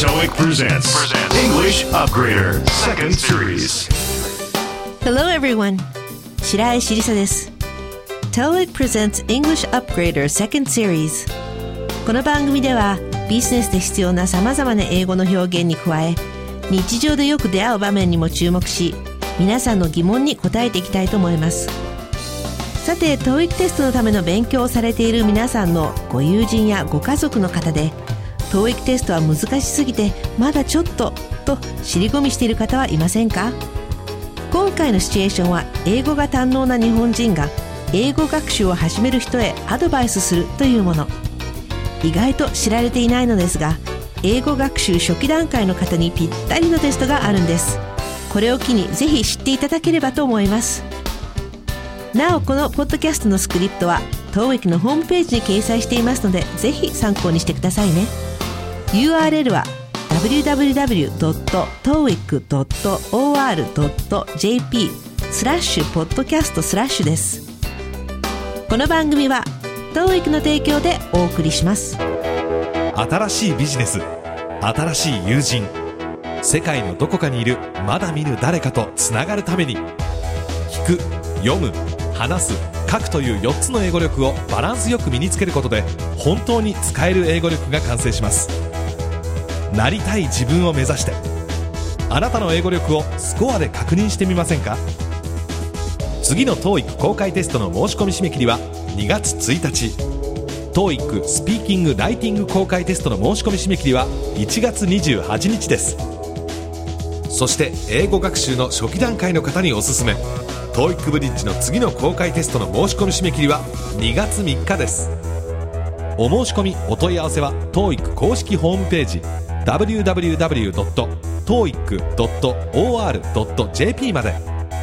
TOEIC presents English Upgrader Second Series. Hello everyone. 白石りさです。TOEIC presents English Upgrader Second Series. この番組ではビジネスで必要な様々な英語の表現に加え、日常でよく出会う場面にも注目し、皆さんの疑問に答えていきたいと思います。さて、TOEIC テストのための勉強をされている皆さんのご友人やご家族の方で、TOEIC テストは難しすぎてまだちょっとと尻込みしている方はいませんか？今回のシチュエーションは、英語が堪能な日本人が英語学習を始める人へアドバイスするというもの。意外と知られていないのですが、英語学習初期段階の方にぴったりのテストがあるんです。これを機にぜひ知っていただければと思います。なお、このポッドキャストのスクリプトは TOEIC のホームページに掲載していますので、ぜひ参考にしてくださいね。URL は www.toeic.or.jp/podcast/ です。この番組は TOEIC の提供でお送りします。 新しいビジネス、新しい友人、世界のどこかにいるまだ見ぬ誰かとつながるために、聞く、読む、話す、書くという4つの英語力をバランスよく身につけることで、本当に使える英語力が完成します。なりたい自分を目指して、あなたの英語力をスコアで確認してみませんか？次の TOEIC 公開テストの申し込み締め切りは2月1日、 TOEIC スピーキング・ライティング公開テストの申し込み締め切りは1月28日です。そして英語学習の初期段階の方におすすめ、 TOEIC ブリッジの次の公開テストの申し込み締め切りは2月3日です。お申し込みお問い合わせは TOEIC 公式ホームページwww.toeic.or.jp まで。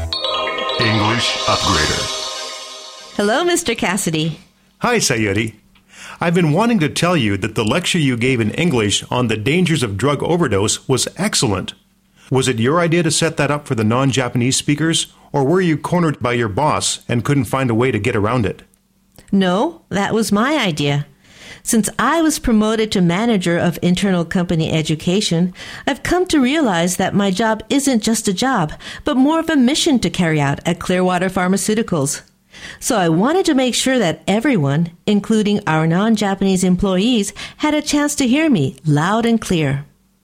English Upgrader. Hello, Mr. Cassidy. Hi, Sayuri. I've been wanting to tell you that the lecture you gave in English on the dangers of drug overdose was excellent. Was it your idea to set that up for the non-Japanese speakers, or were you cornered by your boss and couldn't find a way to get around it? No, that was my idea.Since I was promoted to manager of internal company education, I've come to realize that my job isn't just a job, but more of a mission to carry out at Clearwater Pharmaceuticals. So I wanted to make sure that everyone, including our non-Japanese employees, had a chance to hear me loud and clear.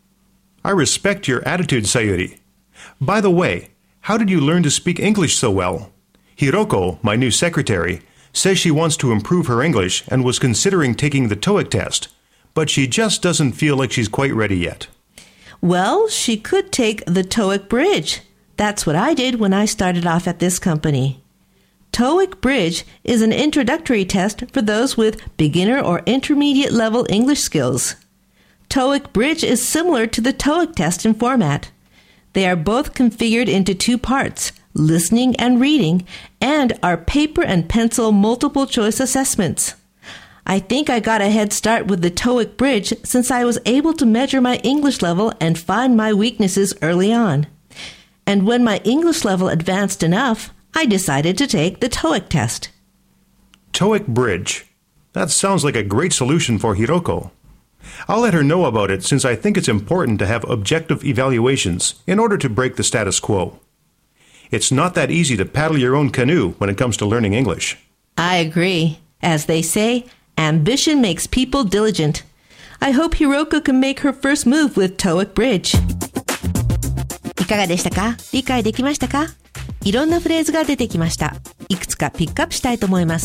I respect your attitude, Sayuri. By the way, how did you learn to speak English so well? Hiroko, my new secretary,says she wants to improve her English and was considering taking the TOEIC test, but she just doesn't feel like she's quite ready yet. Well, she could take the TOEIC Bridge. That's what I did when I started off at this company. TOEIC Bridge is an introductory test for those with beginner or intermediate level English skills. TOEIC Bridge is similar to the TOEIC test in format. They are both configured into two parts,listening and reading, and our paper and pencil multiple choice assessments. I think I got a head start with the TOEIC Bridge since I was able to measure my English level and find my weaknesses early on. And when my English level advanced enough, I decided to take the TOEIC test. TOEIC Bridge. That sounds like a great solution for Hiroko. I'll let her know about it since I think it's important to have objective evaluations in order to break the status quo.It's not that easy to paddle your own canoe when it comes to learning English. I agree. As they say, ambition makes people diligent. I hope Hiroko can make her first move with TOEIC Bridge. いかがでしたか？理解できましたか？いろんなフレーズが出てきました。いくつかピックアップしたいと思います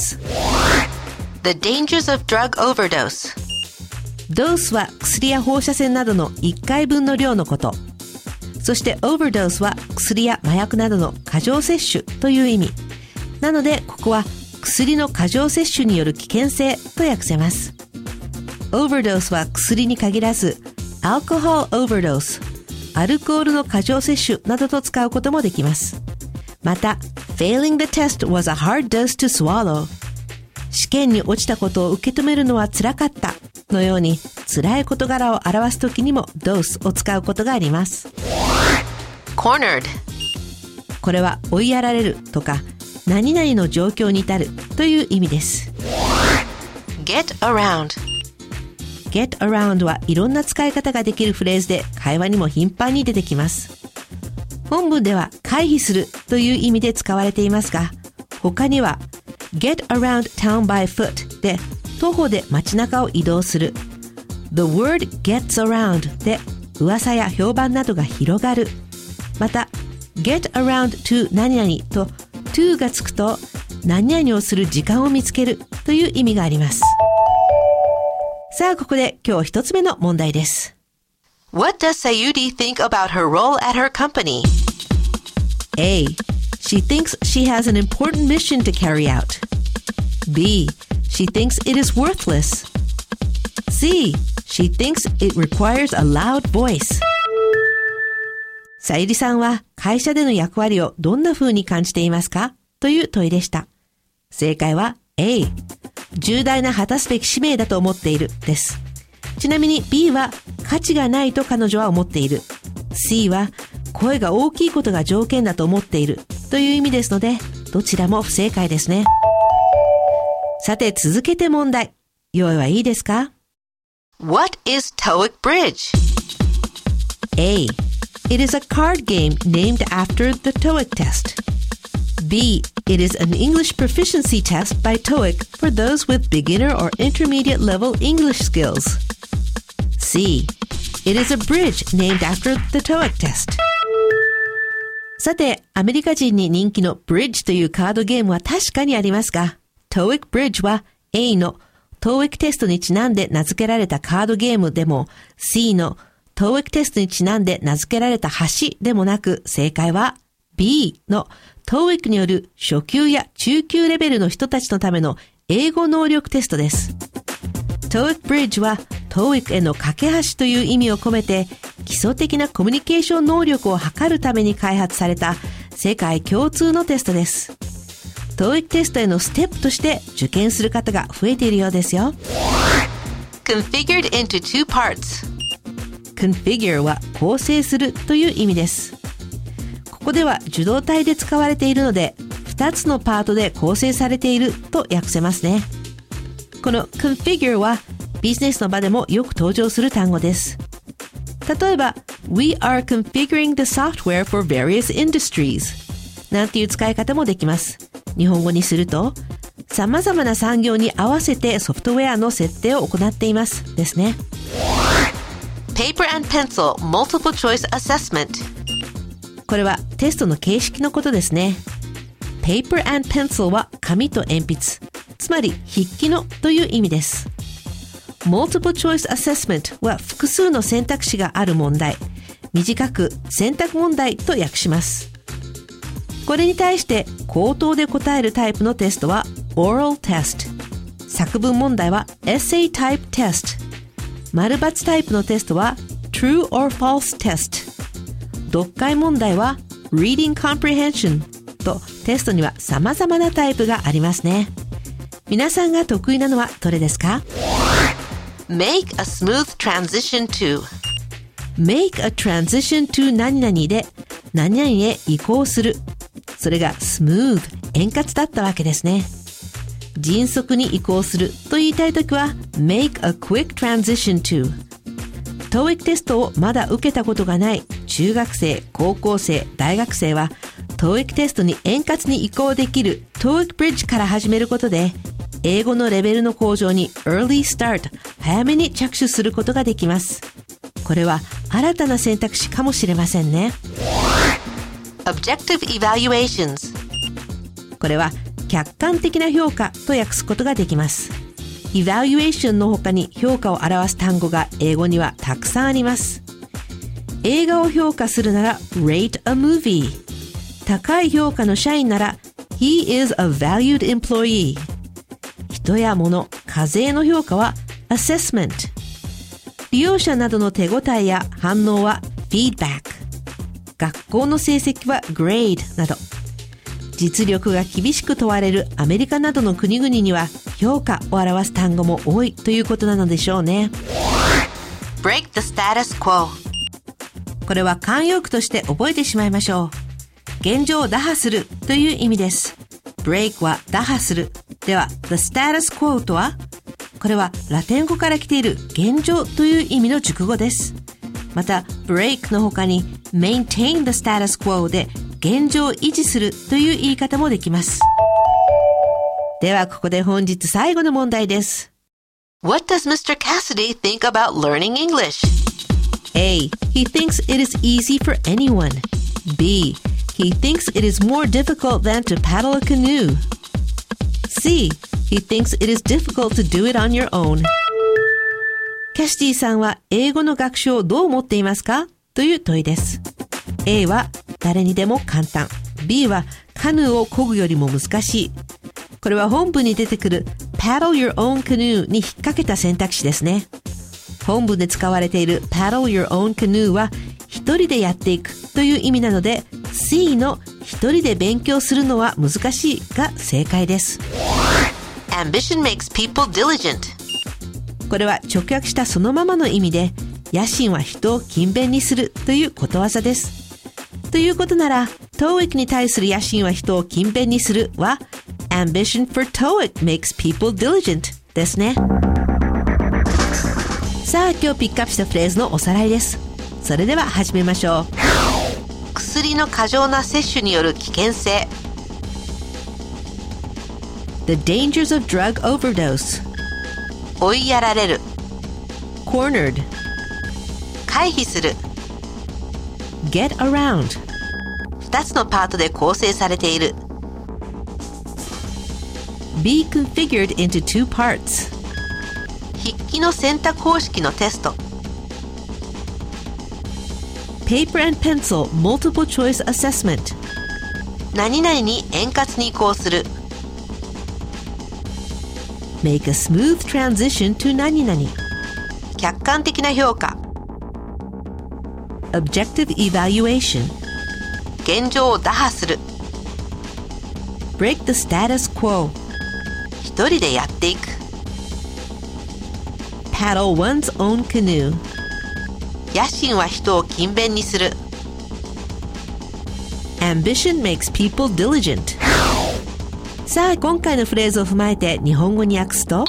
。The dangers of drug overdose. ドースは薬や放射線などの1回分の量のこと。そして overdose は薬や麻薬などの過剰摂取という意味。なのでここは薬の過剰摂取による危険性と訳せます。overdose は薬に限らず alcohol overdose、アルコールの過剰摂取などと使うこともできます。また failing the test was a hard dose to swallow、試験に落ちたことを受け止めるのは辛かったのように辛い事柄を表すときにも dose を使うことがあります。cornered、 これは追いやられるとか何々の状況に至るという意味です。get around、 get around はいろんな使い方ができるフレーズで会話にも頻繁に出てきます。本文では回避するという意味で使われていますが、他には get around town by foot で徒歩で街中を移動する。The word gets around で噂や評判などが広がる。また get around to 何々と to がつくと何々をする時間を見つけるという意味があります。さあここで今日一つ目の問題です。 What does Sayuri think about her role at her company? A. She thinks she has an important mission to carry out. B. She thinks it is worthless. C. She thinks it requires a loud voice. さゆりさんは会社での役割をどんな風に感じていますかという問いでした。正解は A。重大な果たすべき使命だと思っているです。ちなみに B は価値がないと彼女は思っている。C は声が大きいことが条件だと思っているという意味ですので、どちらも不正解ですね。さて続けて問題。用意はいいですか？ What is TOEIC Bridge? A. It is a card game named after the TOEIC test. B. It is an English proficiency test by TOEIC for those with beginner or intermediate level English skills. C. It is a bridge named after the TOEIC test. さて、アメリカ人に人気の Bridge というカードゲームは確かにありますが、TOEIC Bridge は A の TOEIC テストにちなんで名付けられたカードゲームでも C の TOEIC テストにちなんで名付けられた橋でもなく、正解は B の TOEIC による初級や中級レベルの人たちのための英語能力テストです。TOEIC Bridge は TOEIC への架け橋という意味を込めて、基礎的なコミュニケーション能力を測るために開発された世界共通のテストです。TOEIC テストへのステップとして受験する方が増えているようですよ。 Configured into two parts. Configure は構成するという意味です。ここでは受動体で使われているので、2つのパートで構成されていると訳せますね。この Configure はビジネスの場でもよく登場する単語です。例えば We are configuring the software for various industries なんていう使い方もできます。日本語にすると様々な産業に合わせてソフトウェアの設定を行っていますですね。 Paper and pencil multiple choice assessment. これはテストの形式のことですね。Paper and pencil は紙と鉛筆、つまり筆記のという意味です。Multiple choice assessment は複数の選択肢がある問題、短く選択問題と訳します。これに対して口頭で答えるタイプのテストは Oral test、作文問題は Essay type test、丸×タイプのテストは True or false test、読解問題は Reading comprehension とテストには様々なタイプがありますね。皆さんが得意なのはどれですか？ Make a smooth transition to. Make a transition to 何々で何々へ移行する。それが smooth 円滑だったわけですね。迅速に移行すると言いたいときは make a quick transition to。 TOEIC テストをまだ受けたことがない中学生、高校生、大学生は TOEIC テストに円滑に移行できる TOEIC Bridge から始めることで英語のレベルの向上に early start 早めに着手することができます。これは新たな選択肢かもしれませんね。 Objective evaluations. これは客観的な評価と訳すことができます。evaluation の他に評価を表す単語が英語にはたくさんあります。映画を評価するなら rate a movie。 高い評価の社員なら he is a valued employee。 人や物、課税の評価は assessment。 利用者などの手応えや反応は feedback。 学校の成績は grade など、実力が厳しく問われるアメリカなどの国々には評価を表す単語も多いということなのでしょうね。 Break the status quo. これは慣用句として覚えてしまいましょう。現状を打破するという意味です。 Break は打破する。では The status quo とはこれはラテン語から来ている現状という意味の熟語です。また break の他に maintain the status quo で現状を維持するという言い方もできます。ではここで本日最後の問題です。 What does Mr. Cassidy think about learning English? A. He thinks it is easy for anyone. B. He thinks it is more difficult than to paddle a canoe. C. He thinks it is difficult to do it on your own. キャシティさんは英語の学習をどう思っていますかという問いです。A は誰にでも簡単。B はカヌーを漕ぐよりも難しい。これは本文に出てくる paddle your own canoe に引っ掛けた選択肢ですね。本文で使われている paddle your own canoe は一人でやっていくという意味なので C の一人で勉強するのは難しいが正解です。 Ambition makes people diligent. これは直訳したそのままの意味で野心は人を勤勉にするということわざです。ということなら TOEIC に対する野心は人を勤勉にするは Ambition for TOEIC makes people diligent ですね。さあ今日ピックアップしたフレーズのおさらいです。それでは始めましょう。 薬の過剰な摂取による危険性。 The dangers of drug overdose. 追いやられる。 Cornered. 回避する。 Get around. 2つのパートで構成されている。 Be configured into two parts. 筆記の選択方式のテスト。 Paper and pencil multiple choice assessment. 何々に円滑に移行する。 Make a smooth transition to 何々. 客観的な評価。 Objective evaluation. 現状を打破する。 Break the status quo. 一人でやっていく。 Paddle one's own canoe. 野心は人を勤勉にする。 Ambition makes people diligent. さあ今回のフレーズを踏まえて日本語に訳すと、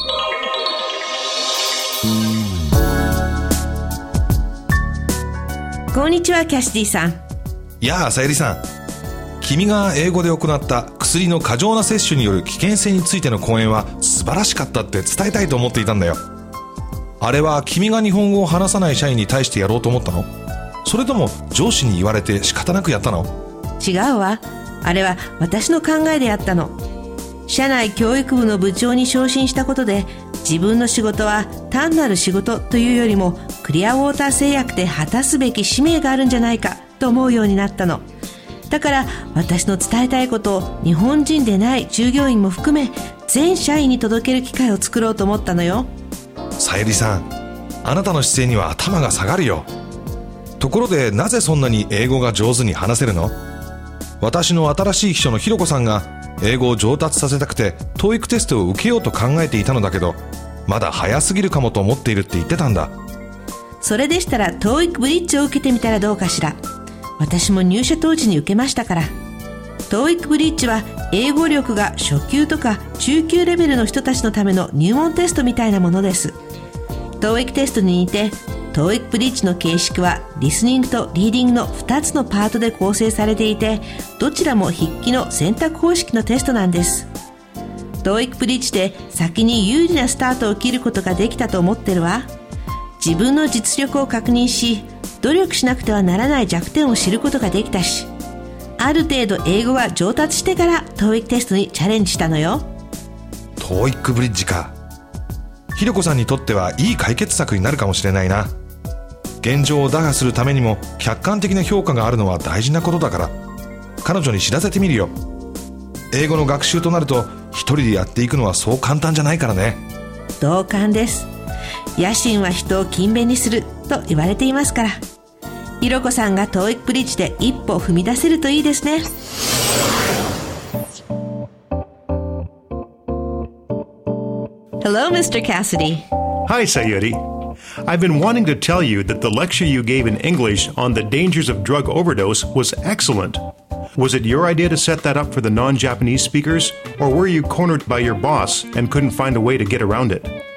こんにちはキャシティさん。 やあさゆりさん、君が英語で行った薬の過剰な摂取による危険性についての講演は素晴らしかったって伝えたいと思っていたんだよ。あれは君が日本語を話さない社員に対してやろうと思ったの？それとも上司に言われて仕方なくやったの？ 違うわ。あれは私の考えでやったの。社内教育部の部長に昇進したことで、自分の仕事は単なる仕事というよりもクリアウォーター製薬で果たすべき使命があるんじゃないかと思うようになったの。だから私の伝えたいことを日本人でない従業員も含め全社員に届ける機会を作ろうと思ったのよ。 さゆりさん、あなたの姿勢には頭が下がるよ。ところでなぜそんなに英語が上手に話せるの？私の新しい秘書のひろこさんが英語を上達させたくて TOEIC テストを受けようと考えていたのだけど、まだ早すぎるかもと思っているって言ってたんだ。 それでしたら TOEIC ブリッジを受けてみたらどうかしら。私も入社当時に受けましたから。 TOEIC ブリッジは英語力が初級とか中級レベルの人たちのための入門テストみたいなものです。 TOEIC テストに似て TOEIC ブリッジの形式はリスニングとリーディングの2つのパートで構成されていて、どちらも筆記の選択方式のテストなんです。 TOEIC ブリッジで先に有利なスタートを切ることができたと思ってるわ。自分の実力を確認し、努力しなくてはならない弱点を知ることができたし、ある程度英語が上達してから TOEIC テストにチャレンジしたのよ。 TOEIC ブリッジか。ひろこさんにとってはいい解決策になるかもしれないな。現状を打破するためにも客観的な評価があるのは大事なことだから、彼女に知らせてみるよ。英語の学習となると一人でやっていくのはそう簡単じゃないからね。 同感です。野心は人を勤勉にすると言われていますから、ひろこさんが TOEIC ブリッジで一歩踏み出せるといいですね。Hello, Mr. Cassidy. Hi, Sayuri. I've been wanting to tell you that the lecture you gave in English on the dangers of drug overdose was excellent. Was it your idea to set that up for the non-Japanese speakers, or were you cornered by your boss and couldn't find a way to get around it?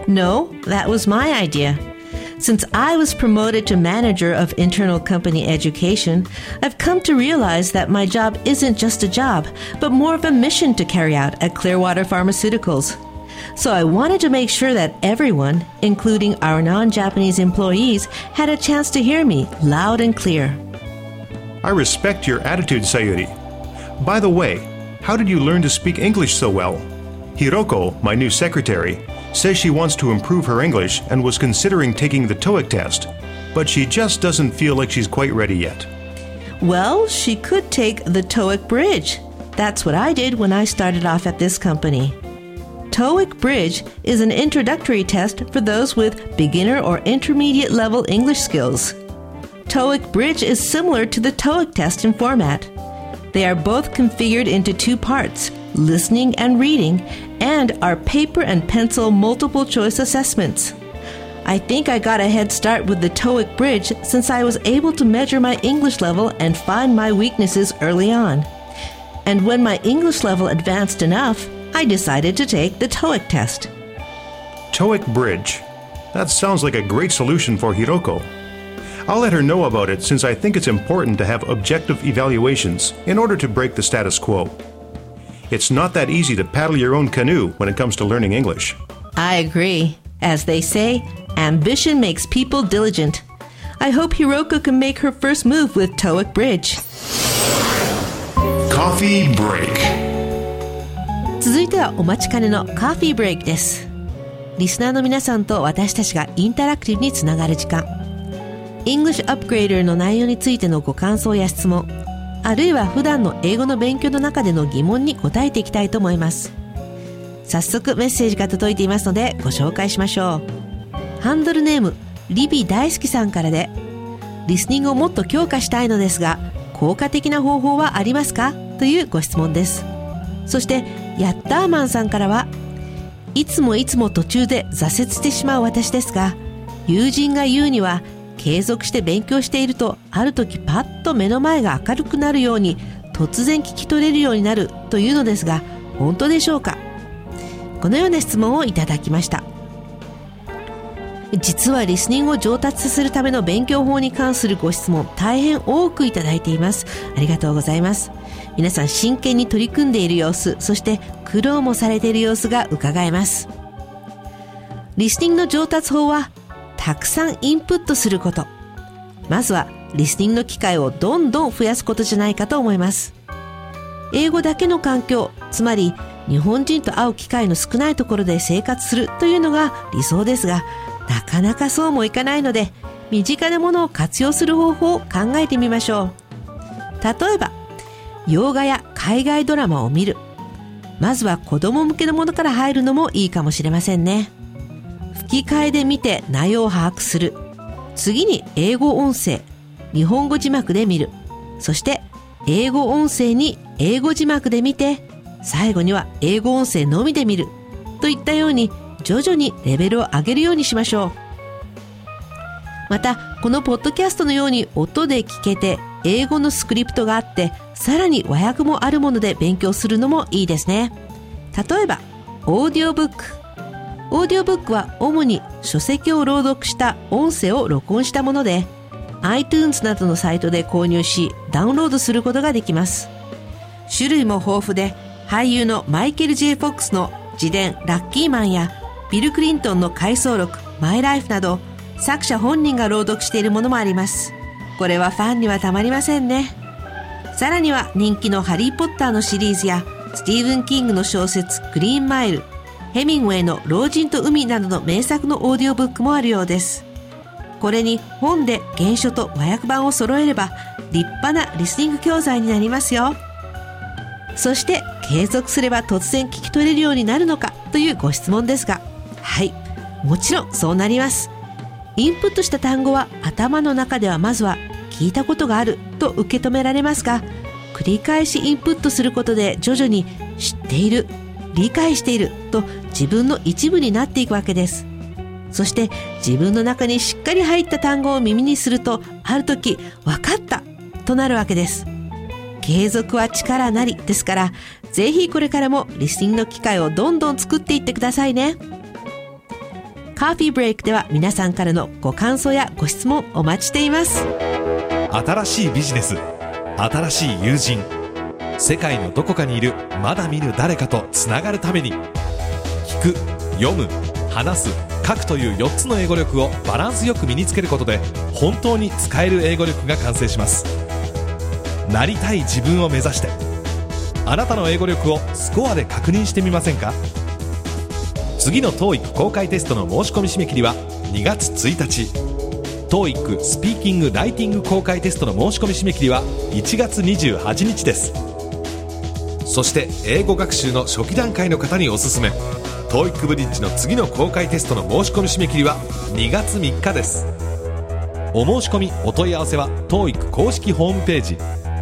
No, that was my idea. Since I was promoted to manager of internal company education, I've come to realize that my job isn't just a job, but more of a mission to carry out at Clearwater Pharmaceuticals. So I wanted to make sure that everyone, including our non-Japanese employees, had a chance to hear me loud and clear. I respect your attitude, Sayuri. By the way, how did you learn to speak English so well? Hiroko, my new secretary, says she wants to improve her English and was considering taking the TOEIC test, but she just doesn't feel like she's quite ready yet. Well, she could take the TOEIC Bridge. That's what I did when I started off at this company. TOEIC Bridge is an introductory test for those with beginner or intermediate level English skills. TOEIC Bridge is similar to the TOEIC test in format. They are both configured into two parts, listening and reading, and are paper and pencil multiple choice assessments. I think I got a head start with the TOEIC Bridge since I was able to measure my English level and find my weaknesses early on. And when my English level advanced enough, I decided to take the TOEIC test. TOEIC Bridge. That sounds like a great solution for Hiroko. I'll let her know about it since I think it's important to have objective evaluations in order to break the status quo. It's not that easy to paddle your own canoe when it comes to learning English. I agree. As they say, ambition makes people diligent. I hope Hiroko can make her first move with TOEIC Bridge. Coffee break. 続いてはお待ちかねのカフィーブレイクです。リスナーの皆さんと私たちがインタラクティブにつながる時間。English Upgrader の内容についてのご感想や質問、あるいは普段の英語の勉強の中での疑問に答えていきたいと思います。早速メッセージが届いていますのでご紹介しましょう。ハンドルネームリビ大好きさんからで、リスニングをもっと強化したいのですが効果的な方法はありますかというご質問です。そしてヤッターマンさんからは、いつも途中で挫折してしまう私ですが、友人が言うには継続して勉強しているとある時パッと目の前が明るくなるように突然聞き取れるようになるというのですが、本当でしょうか？このような質問をいただきました。実はリスニングを上達させるための勉強法に関するご質問大変多くいただいています。ありがとうございます。皆さん真剣に取り組んでいる様子、そして苦労もされている様子が伺えます。リスニングの上達法はたくさんインプットすること。まずはリスニングの機会をどんどん増やすことじゃないかと思います。英語だけの環境、つまり日本人と会う機会の少ないところで生活するというのが理想ですが、なかなかそうもいかないので、身近なものを活用する方法を考えてみましょう。例えば、洋画や海外ドラマを見る。まずは子供向けのものから入るのもいいかもしれませんね。吹き替えで見て内容を把握する。次に英語音声、日本語字幕で見る。そして英語音声に英語字幕で見て、最後には英語音声のみで見る。といったように徐々にレベルを上げるようにしましょう。また、このポッドキャストのように音で聞けて英語のスクリプトがあって、さらに和訳もあるもので勉強するのもいいですね。例えば、オーディオブック。オーディオブックは主に書籍を朗読した音声を録音したもので、iTunes などのサイトで購入し、ダウンロードすることができます。種類も豊富で、俳優のマイケル・ J・フォックスの自伝ラッキーマンや、ビル・クリントンの回想録マイ・ライフなど、作者本人が朗読しているものもあります。これはファンにはたまりませんね。さらには人気のハリー・ポッターのシリーズや、スティーブン・キングの小説グリーンマイル、ヘミングウェイの老人と海などの名作のオーディオブックもあるようです。これに本で原書と和訳版を揃えれば立派なリスニング教材になりますよ。そして継続すれば突然聞き取れるようになるのかというご質問ですが、はい、もちろんそうなります。インプットした単語は頭の中ではまずは聞いたことがあると受け止められますが、繰り返しインプットすることで徐々に知っている、理解していると自分の一部になっていくわけです。そして自分の中にしっかり入った単語を耳にすると、ある時分かったとなるわけです。継続は力なりですから、ぜひこれからもリスニングの機会をどんどん作っていってくださいね。 カーフィーブレイクでは皆さんからのご感想やご質問お待ちしています。 新しいビジネス、新しい友人、世界のどこかにいるまだ見ぬ誰かとつながるために、聞く、読む、話す、書くという4つの英語力をバランスよく身につけることで本当に使える英語力が完成します。なりたい自分を目指して、あなたの英語力をスコアで確認してみませんか？次の TOEIC 公開テストの申し込み締め切りは2月1日、 TOEIC スピーキング・ライティング公開テストの申し込み締め切りは1月28日です。そして英語学習の初期段階の方におすすめ、 TOEIC ブリッジの次の公開テストの申し込み締め切りは2月3日です。お申し込みお問い合わせは TOEIC 公式ホームページ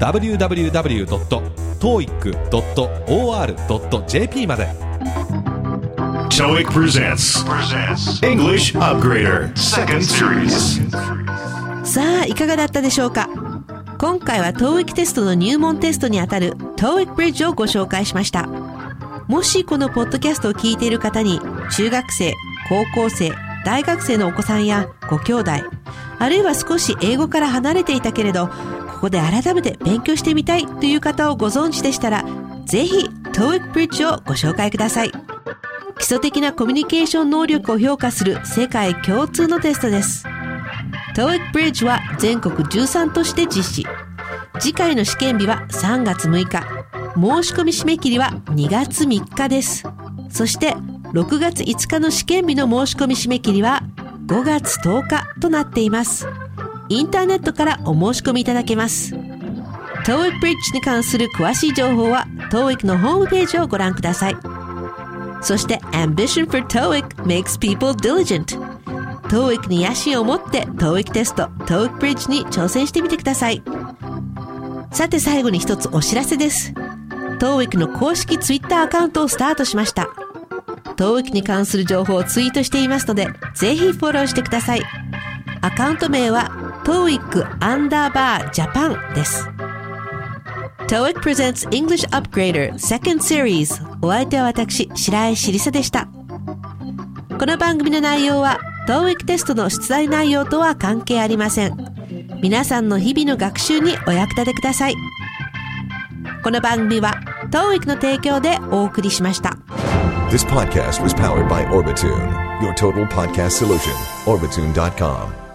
www.toeic.or.jp まで。 TOEIC presents English Upgrader Second Series。 さあいかがだったでしょうか。今回は TOEIC テストの入門テストにあたる TOEIC Bridge をご紹介しました。もしこのポッドキャストを聞いている方に中学生、高校生、大学生のお子さんやご兄弟、あるいは少し英語から離れていたけれどここで改めて勉強してみたいという方をご存知でしたら、ぜひ TOEIC Bridge をご紹介ください。基礎的なコミュニケーション能力を評価する世界共通のテストです。TOEIC Bridge は全国13都市で実施。次回の試験日は3月6日。申し込み締め切りは2月3日です。そして6月5日の試験日の申し込み締め切りは5月10日となっています。インターネットからお申し込みいただけます。TOEIC Bridge に関する詳しい情報は TOEIC のホームページをご覧ください。そして Ambition for TOEIC makes people diligent。 TOEIC に野心を持って TOEIC テスト TOEIC Bridge に挑戦してみてください。さて最後に一つお知らせです。 TOEIC の公式 Twitter アカウントをスタートしました。 TOEIC に関する情報をツイートしていますのでぜひフォローしてください。アカウント名は TOEIC_Japan です。 TOEIC presents English Upgrader Second Series。 お相手は私白石りさでした。この番組の内容は TOEIC テストの出題内容とは関係ありません。皆さんの日々の学習にお役立てください。この番組は TOEIC の提供でお送りしました。 This podcast was powered by Orbitune, your total podcast solution. Orbitune.com